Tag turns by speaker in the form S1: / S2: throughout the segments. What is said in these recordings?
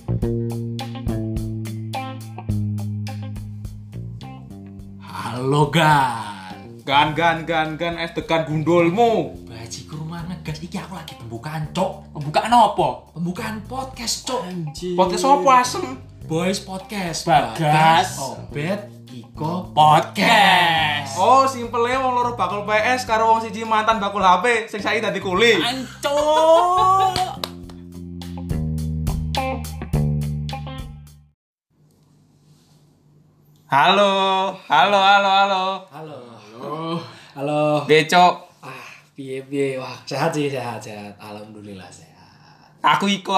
S1: Halo Gan es tekan gundulmu.
S2: Baji ke rumah negas iki aku lagi pembukaan, Cok. Pembukaan apa? Pembukaan podcast, Cok.
S1: Anjir. Podcast apa asem?
S2: Boys Podcast.
S1: Bagas.
S2: Obet Iko Podcast.
S1: Oh, simpelnya wong loro bakul PS karo wong siji mantan bakul HP sing saiki dadi kuli.
S2: Ancok.
S1: Halo. Becok.
S2: Piye. Wah, sehat. Alhamdulillah sehat.
S1: Aku Iko.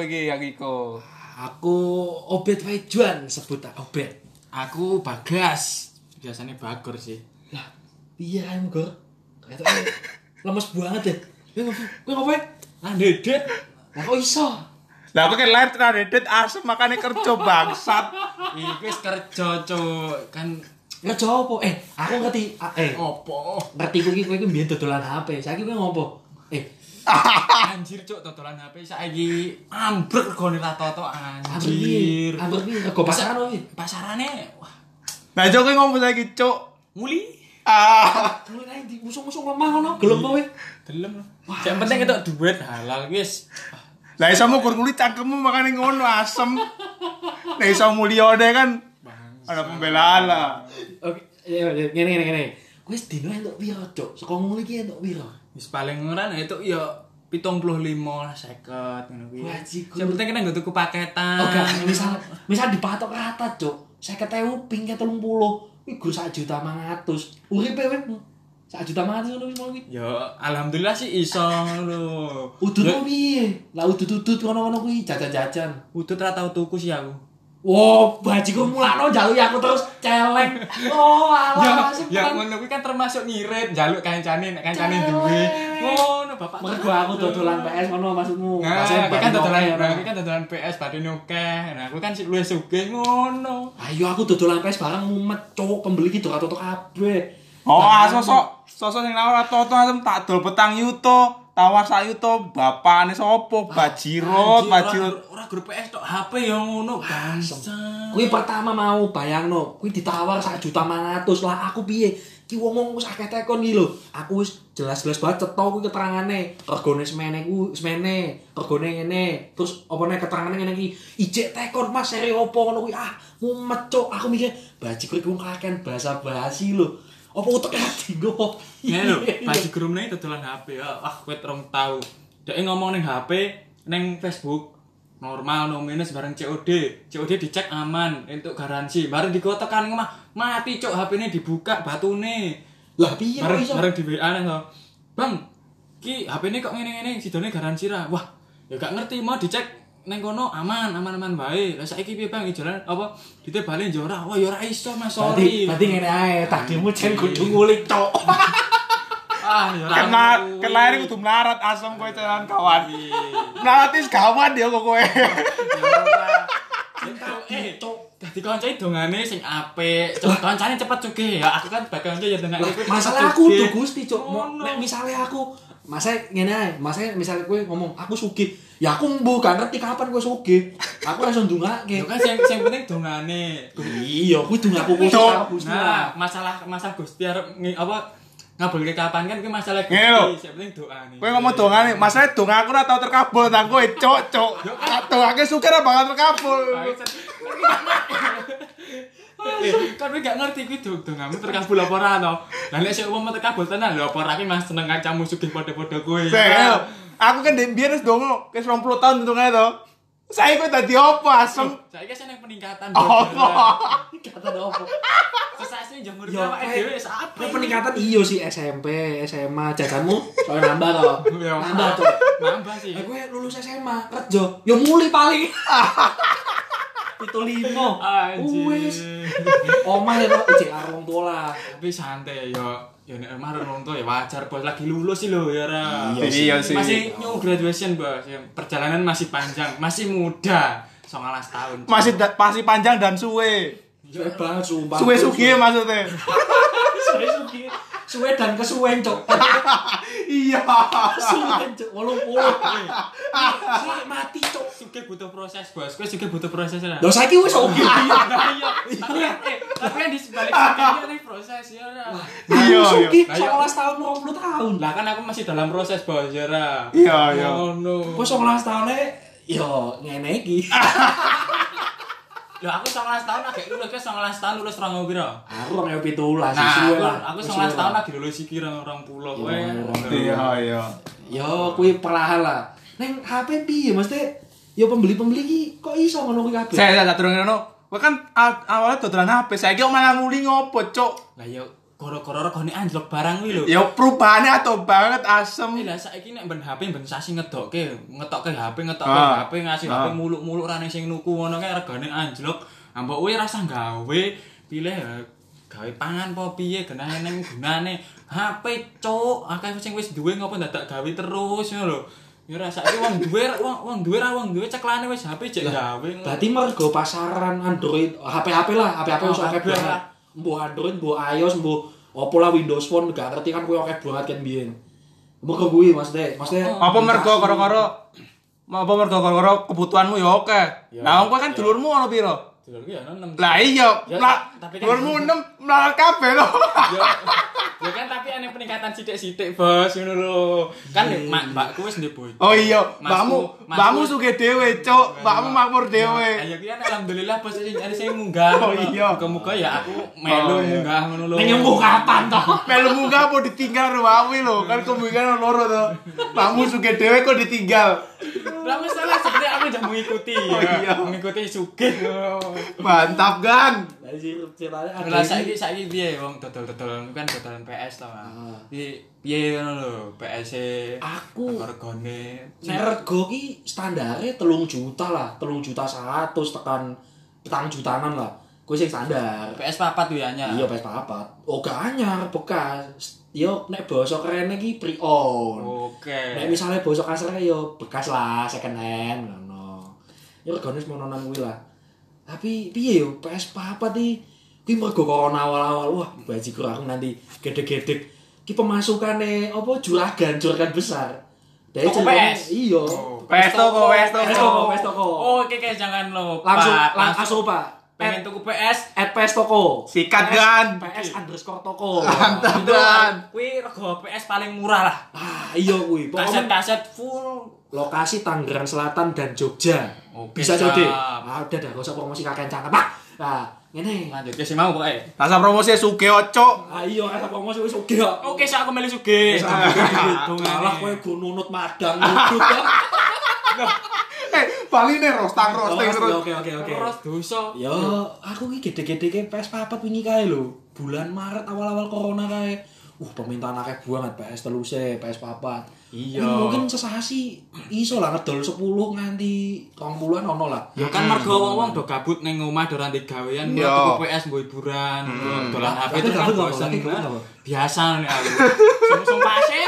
S2: Aku Obet wae Juan, sebut Obet.
S3: Aku Bagas. Biasanya Bagor sih.
S2: Lah, piye ae, Gor? Kayaknya lemes banget ya. Kowe ngopo?
S3: Lah dedet.
S2: Lah kok iso?
S1: Lah aku kan lahir tenan dedet asem makane kerja bangsat.
S3: Iki wis kerja, Cuk. Kan
S2: Ngerja apa? Aku ngerti.
S3: opo?
S2: Ngerti kowe iki mbiyen dodolan HP. Saiki kowe ngopo?
S3: Anjir, Cuk, dodolan HP saiki ambruk regane ra toto anjir.
S2: Ambruk piye? Rego pasaran opo?
S3: Pasarane wah,
S1: Nah, Cok kowe ngomong saiki, Cok.
S3: muli.
S2: Mulai nang di musuh-musuh lemah ngono. Gelem kowe.
S3: Delem. Yang penting ketok duit halal wis.
S1: Lah iso ngukur kulit cangkemmu makane ngono asem. Lah iso mulyane kan ada pembelaan lah.
S2: Oke, ngene. Kowe sedina entuk piro, Cuk? Saka nguli ki entuk piro?
S3: Wis paling ora itu ya 75 50 ngono kuwi.
S2: Wajiku.
S3: Yang penting kena nggo tuku paketan.
S2: Oh, gak, misal dipatok rata, Cuk. 50.000 ping 30. Kuwi gur 1.500.000. Uripe kowe 1.500.000 ngono kuwi.
S3: Ya alhamdulillah sih iso lho.
S2: Udut piye? Lah udut-udut ngono-ngono kuwi jajan-jajan.
S3: Udut ra tau tuku sih aku.
S2: Wow, bajiku mulakno njaluk aku terus celeng. Oh, alah.
S3: Ya ngono kuwi kan termasuk ngirit, njaluk kancane nek kancane duwe. Ngono bapak.
S2: Mergo aku dodolan PS ngono maksudmu.
S3: Nah,
S2: Maksudnya
S3: kuwi kan dodolan,
S2: bareng
S3: kuwi kan dodolan PS badene akeh. Nah, kuwi kan sik luwih sugih ngono.
S2: Ayo aku dodolan PS barang mumet, Cuk. Pembeli ki toto kabeh.
S1: Oh, sosok sing nawar toto asem tak dol petang yuto. Tawar sak yuto bapakne sapa? Bajirot.
S3: Ora grup PS tok, HP ya ngono bangsa.
S2: Kuwi pertama mau bayangno, kuwi ditawar 1.500.000 lah aku piye? Ki wong wis akeh tekon iki lho. Aku wis jelas-jelas banget cetha kuwi keterangane. Regane semene regane ngene. Terus opone keterangane ngene iki. Ijek tekon Mas seri opo ngono kuwi. Mumet, Cuk. Aku mikir bajiku iki wong kakean basa-basi lho. Apa utek ati nggo?
S3: Ya lho, baju gerumne dodolan HP ya. Wah, kowe rong tau. Dek ngomong ning HP, ning Facebook normal no minus bareng COD. COD dicek aman, entuk garansi. Bareng digo tekan omah, mati Cuk, HP-ne dibuka batune.
S2: Lah piye kok iso?
S3: Bareng di WA nang to. Bang, ki HP-ne kok ngene-ngene, sidone garansi ra. Wah, ya gak ngerti mau dicek neng kono aman bae. Lah saiki piye Bang jalan apa ditebale yo ora. Wah, ya ora iso Mas, sorry.
S2: Berarti ngene ae, tadimu jen kudu ngulik, Cuk.
S3: Ya ora.
S1: Kelahir kudu melarat asem kowe jalan kawan. Melarat is kawan ya kok kowe.
S2: Cuk.
S3: Dadi kancane dongane sing apik. Kancane cepet sugih ya. Aku kan bakal kanca ya dongane kowe.
S2: Masalah aku tuh Gusti, Cuk. Nek misale aku ngene ae, misale kowe ngomong aku sugih. Ya aku mbuh gak ngerti kapan kowe sugih. Aku langsung ndongake.
S3: Ya kan sing penting dongane.
S2: Iya, kuwi dongaku khusus karo Gusti.
S3: Nah, masalah Gusti arep ngabulke kapan kan kuwi masalah
S1: Ngene
S3: Gusti. Sing penting doane.
S1: Kowe ngomong dongane, masalah dong aku ora tau terkabul nang kowe, Cuk. Dongake sugih ora bakal terkabul.
S3: Kan kowe gak ngerti kuwi dongamu terkabul apa ora to. Lah nek sik umum terkabul tenan lho apa ora ki Mas seneng kancamu sugih padha-padha kowe.
S1: Aku kan biyen wis dongo, wis 20 tahun dongane to. Saiki kowe dadi apa asem?
S3: Saiki seneng peningkatan.
S2: Kata opo?
S3: Sesase njemur
S2: Yo,
S3: awake dhewe sak
S2: Kowe peningkatan iya sih SMP, SMA, jajanmu soalnya nambah to.
S3: Yo.
S2: Nambah, Cuk.
S3: Nambah sih.
S2: Kowe lulus SMA, kerja, yo muli paling. 75. Wis. Omah ya kok ijek karo wong tua lah.
S3: Tapi santai ya nek omah wong tua ya wajar bos lagi lulus sih lho ya ra.
S1: Iya sih.
S3: Masih new graduation bos. Perjalanan masih panjang, masih muda. 19 tahun.
S1: Masih panjang dan suwe.
S2: Suwe banget sumpah.
S1: Suwe sugih maksudnya.
S2: Suwe sugih. Suwe dan kesuwen, Cok.
S1: Iya.
S2: Suwe, Cok. 80. Suwe mati, Cok.
S3: juga butuh proses, Bos. Kowe juga butuh proses lah.
S2: Lho saiki wis oke.
S3: Iya. Tapi kan di sebalik sakitnya nih proses ya.
S1: Iya,
S2: Suki
S3: iya.
S2: 19 tahun 20 tahun.
S3: Lah kan aku masih dalam proses, Bos, ya ra.
S1: Iya.
S3: Ngono.
S2: Kok 19 tahun yo ngene iki.
S3: Lho aku 19 tahun agak lulus, 19 tahun lulus 2000 piro?
S2: Aku 2017
S3: Nah,
S2: suwe lah.
S3: aku 19 tahun lagi lulus iki 20 kowe.
S1: Iya.
S2: Yo kuwi perlahan lah. Neng HP piye mesti yo pembeli-pembeli iki kok iso ngono kuwi kabeh.
S1: Saya durung ngono. Kowe kan awalnya dodolan HP, saiki kok malah nguli ngopo, Cuk?
S3: Lah yo gara-gara regane anjlok barang kuwi lho.
S1: Ya perubahannya atau banget asem.
S3: Lah saiki nek ben HP ben sasi ngetokke HP,
S1: Ah.
S3: HP ngasih HP muluk-muluk rane sing nuku ngono kae regane anjlok. Ambek kowe rasa gawe pilih gawe pangan apa piye genane ning gunane HP cuk akeh sing wis duwe ngopo dadak gawe terus ngono lho. Ya rasa iki wong duwe ceklane wis HP jek gawe.
S2: Berarti mergo pasaran Android, HP-HP lah, HP-HP wis akeh banget. Mbuh Android, mbuh iOS, mbuh opo lah Windows Phone gak ngerti kan kuwi akeh banget kan biyen. Mergo kuwi maksudnya
S1: Apa mergo gara-gara kebutuhanmu ya oke. Nah, kowe kan dulurmu ono piro?
S3: Dulur ki ya 6.
S1: Lah iya,
S3: tapi kan
S1: dulurmu 6 melarat kabeh lho.
S3: Ya kan tapi ana peningkatan sithik-sithik, Bos, ngono lho. Kan mbakku wis ndek bojo.
S1: Oh iya, mbakmu sugih dhewe, Cuk. Mbakmu makmur dhewe.
S3: Ya ki kan alhamdulillah bos sing munggah.
S1: Oh iya.
S3: Muga-muga ya aku melu munggah ngono lho.
S2: ning embuh kapan to?
S1: Melu munggah apa ditinggal karo wawi lho. Kan kemungkinan loro to. Mbakmu sugih dhewe kok ditinggal.
S3: Lah masalah sebenarnya aku udah mengikuti.
S1: Oh iya.
S3: Mengikuti sugih.
S1: Mantap, Gan.
S2: Lah ceritanya ada.
S3: Lah saiki piye wong dodol-dodol kan dodolan PS to. Piye ngono lho, PS
S2: Aku
S3: regane.
S2: nek rego ki standare 3 juta lah, 3 juta 100 tekan 4 jutaan lah. Kuwi sing standar.
S3: PS papat tuh ya nya.
S2: Iya PS4. Oh gak anyar bekas. Yo nek basa kerene iki pre-owned.
S3: Oke.
S2: Nek misale basa kasare yo bekas lah, second hand ngono. Yo regane semono nang kuwi lah. Tapi piye yo PS4 iki kuwi mergo corona awal-awal. Wah, bajigur aku nanti gede-gede ki pemasukane apa juragan besar. Dari
S3: Toko PS?
S2: Iya.
S1: PS toko.
S2: PS toko.
S3: Oh, oke jangan lupa.
S2: Langsung Pak.
S3: Pengen tuku PS
S2: PS toko.
S1: Sikat, Gan.
S2: PS_toko.
S1: Mantap, Gan.
S3: kuwi rego PS paling murah lah.
S2: Ah, iya kuwi. Pokoknya
S3: Kaset-kaset full.
S2: lokasi Tangerang Selatan dan Jogja.
S3: Oke,
S2: Bisa
S3: siap.
S2: jadi. Ah, udah gak usah promosi kakek cangkem, Pak. Nah, ngene.
S3: Lanjut ke si mau pokoke.
S1: Rasa promosi sugih, Cuk.
S2: Ah, iya kata promosi wis oke kok.
S3: Oke, sak aku melu sugih.
S2: Malah kowe go nunut madang nudut.
S1: Baline roasting terus.
S2: Oke.
S3: Terus dosa.
S2: Yo, aku iki gede-gede ke PS4 wingi kae lho. Bulan Maret awal-awal corona kae. Permintaan akeh banget PS teluse, PS4.
S3: Iya.
S2: Mungkin sesasi iso lah ngedol 10 nganti 20-an ono lah.
S3: Ya kan mergo wong-wong do gabut ning omah do ranti gawean,
S1: Iya.
S3: tuku PS mbok hiburan, dolan HP itu kan bosen. Biasa nek aku. Sungsung pasir.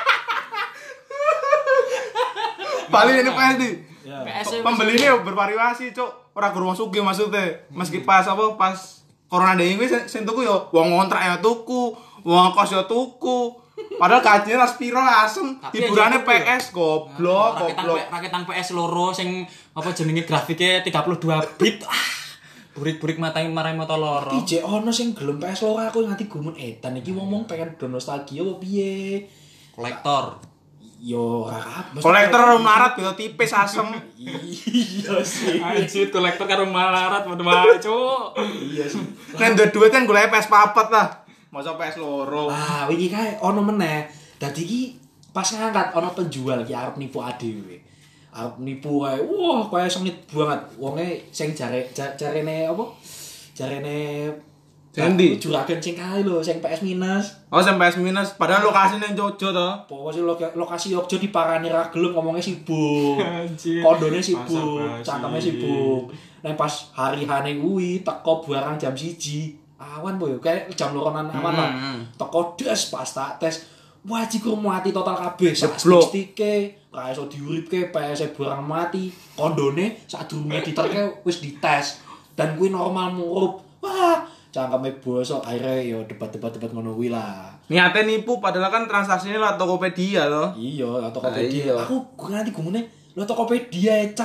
S1: Baline ini PS di.
S3: PS
S1: Pembelinya bervariasi, Cuk. Ora guru wong sugih maksudnya. Meski pas corona dhewe kuwi sing tuku yo wong ngontrak ya tuku, wong kos ya tuku. Padahal gajinya ras piro asem, hiburane PS goblok.
S3: Raketang PS loro sing apa jenenge grafiknya 32 bit. Burik-burik marai mata loro.
S2: Iki jek ono sing gelem PS loro aku nganti gumun edan iki ngomong pengen do nostalgia apa piye.
S3: Kolektor.
S2: Yo ora kabeh.
S1: Kolektor melarat beda tipis asem.
S2: Iya sih.
S3: Anjir kolektor karo malarat padha wae, Cuk.
S2: Iya sih.
S1: Nek duwe duit kan golek PS papat lah. Masa PS loro.
S2: Ah, wingi kae ono meneh. Dadi iki pas ngangkat ono penjual iki arep nipu adewe. Arep nipu kae. Wah, kae sengit banget. Wonge sing jarene apa? Jarene
S1: Endi?
S2: juragan sing kae lho, sing PS minus.
S1: Oh, sing PS minus padahal lokasine Jogja to.
S2: Pokoknya lokasi Jogja diparani ra gelem ngomongnya sibuk.
S3: Anjir.
S2: Kondone sibuk,
S3: Basa-basi.
S2: cangkeme sibuk. Nek pas hari-hane kuwi teko barang jam 1. Awan po yo, kayak jam 2-an awan lah. Teko des pas tak tes. Wah, jikur mati total kabeh.
S1: Jeblok.
S2: Stike, ra iso diuripke, PS barang mati. Kondone sadurunge diterke wis dites. Dan kuwi normal murup. Wah, cangkeme bosok akhirnya yo debat-debat ngono kuwi lah.
S1: Niate nipu padahal kan transaksinya lewat Tokopedia to.
S2: Iya, Tokopedia.
S1: Iya.
S2: Aku nganti gumune lho Tokopedia cak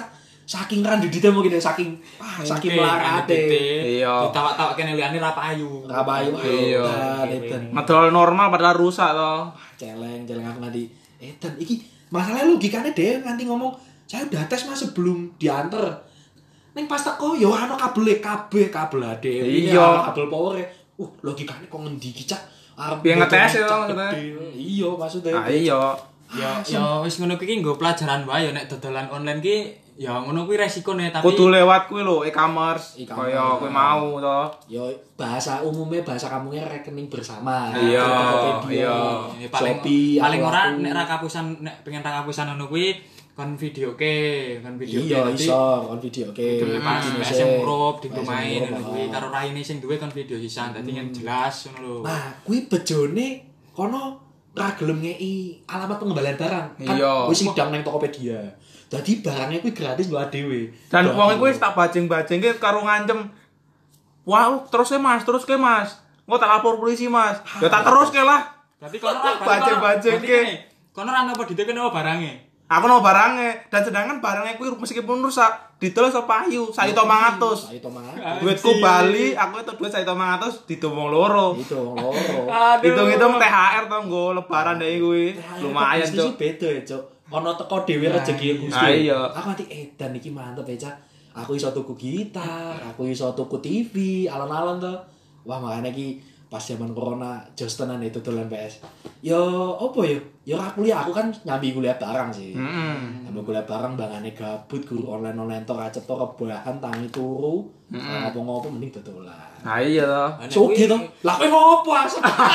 S2: saking randedite mungkin ya saking melarate.
S1: Iya.
S3: Ditawak-tawak kene liyane ra payu.
S1: Iya.
S2: Edan.
S1: Ngedol normal padahal rusak toh.
S2: Celeng aku nganti edan iki masalahnya logikane dhewe nganti ngomong saya udah tes Mas sebelum diantar. Ning pas teko yo ana kabel kabel ade.
S1: Iya.
S2: Kabel power. Logikane kok ngendi iki cak? Arep
S1: Biar ngetes ya maksudnya.
S2: Iya maksudnya.
S1: Iya.
S3: Ya wis ngono kuwi nggo pelajaran wae ya nek dodolan online ki ya ngono kuwi resikone tapi
S1: Kudu lewat kuwi lho e-commerce. Kaya kuwi mau to.
S2: Yo bahasa kampungnya rekening bersama.
S1: Iya,
S2: Tokopedia,
S3: ya, paling
S2: Shopee,
S3: paling ora
S2: Aku.
S3: nek ra kapusan nek pengen ra kapusan ngono kuwi kon videoke
S2: Iya iso kon video oke.
S3: pas
S2: Indonesia.
S3: SM Group di
S2: Pas
S3: main
S2: SM
S3: ngono
S2: Group,
S3: kuwi karo raine sing duwe kon video sisan dadi yang jelas ngono lho.
S2: Nah, kuwi bejone kono ra gelem ngeki alamat pengembalian barang. Kan
S1: Iya.
S2: wis sidang nang Tokopedia. Dadi barangnya kuwi gratis lho dhewe.
S1: Dan wong iku wis tak bajing-bajingke karo ngancem. Wah, terus Mas. Engko tak lapor polisi, Mas. Ya tak terus ke lah.
S3: Berarti kono ra
S1: Bajing-bajingke.
S3: Kono ra nopo ditekan nopo barange.
S1: Aku no barangnya dan sedangkan barangnya kuwi meskipun rusak didol iso payu 1.500.
S2: Saito mangan.
S1: Duitku bali, aku itu duit 1.500 didomong loro.
S2: Itu wong loro.
S1: Hitung-hitung THR to nggo lebaran deh kuwi. Lumayan,
S2: Cuk.
S1: Cuk.
S2: Beda ya, Cuk. Ono teko dhewe rezeki Gusti.
S1: Iya.
S2: Aku nanti edan iki mantep ya, Cak. Aku iso tuku gitar, aku iso tuku TV, alon-alon to. Wah, makane iki pas zaman corona jos tenan itu dolan PS. Yo opo yo? Yo ra kuliah, aku kan nyambi kuliah barang sih. Nyambi kuliah barang bangane gabut guru online tok acet tok rebahan tangi turu. Ngopo-ngopo mending dodolan.
S1: Nah iya to.
S2: Soge to. Lah kowe ngopo asep?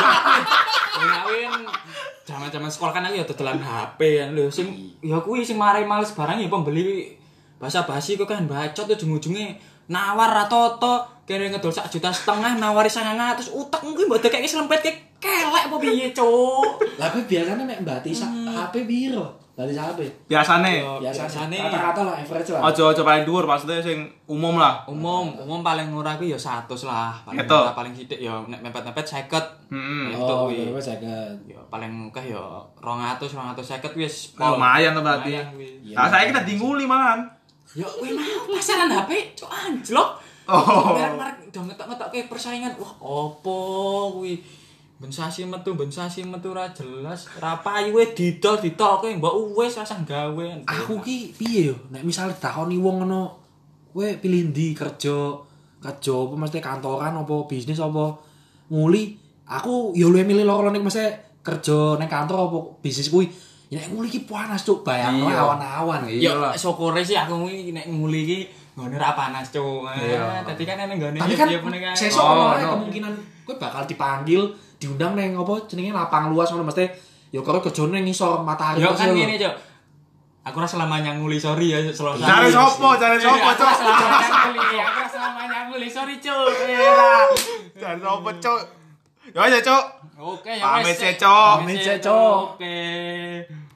S3: Ngawin zaman-zaman sekolah kan aku ya dodolan HP kan lho sing ya kuwi sing marai males barang ya pembeli basa-basi kok kan bacot ujung-ujunge nawar ra toto kene ngedol 1,5 juta nawari 900 utek kuwi mbok dekek selempet kelek apa piye cuk.
S2: Lah kowe biasane nek mbati HP piro? Dari HP.
S1: Biasane.
S3: Biasane
S2: Kata-kata lah average lah.
S1: Ojo paling dhuwur maksudnya sing umum lah.
S3: umum paling murah kuwi ya 100 lah. Paling
S1: Gitu.
S3: murah paling sithik ya nek mepet-mepet 50. Itu
S2: Oh,
S3: kuwi.
S2: berapa second?
S3: Ya paling akeh ya 250 wis
S1: Lumayan to berarti.
S3: Lumayan kuwi.
S1: Nah, saya kita dinguli malahan.
S3: Ya kuwi mau pasaran HP cuk anjlok.
S1: Oh.
S3: Merek udah ngetok-ngetokke persaingan. Wah, opo kuwi? Ben sasi metu ra jelas. Ra payu didol-ditolke mbok wis rasah gawe.
S2: Aku ki piye yo? Nek misale ditakoni wong ngono, kowe pilih ndi kerja apa mesti kantoran apa bisnis apa nguli? Aku yo luwih milih loro nek mesti kerja ning kantor apa bisnis kuwi. Ya nek nguli ki panas cuk, bayangno
S1: Iya.
S2: awan-awan.
S3: Ya syukure sih aku kuwi nek nguli ki nggone ra panas cuk. Dadi kan nek nggone
S2: Tapi kan sesuk ono
S1: no.
S2: kemungkinan kowe bakal dipanggil, diundang neng apa jenenge lapang luas ngono mesti yo karo kerjane ning ngisor matahari.
S3: Ya kan
S2: terus
S3: ngene cuk. Aku ora selamanya nguli, sorry ya selalu.
S1: Cari sopo, cuk.
S3: Aku ora selamanya nguli, sorry cuk.
S1: Cari sopo, cuk. Ya aja, cuk.
S3: Oke, ya
S1: Pamit
S3: wes.
S1: ya, Cuk.
S2: Pamit ya, Cuk.
S3: Oke.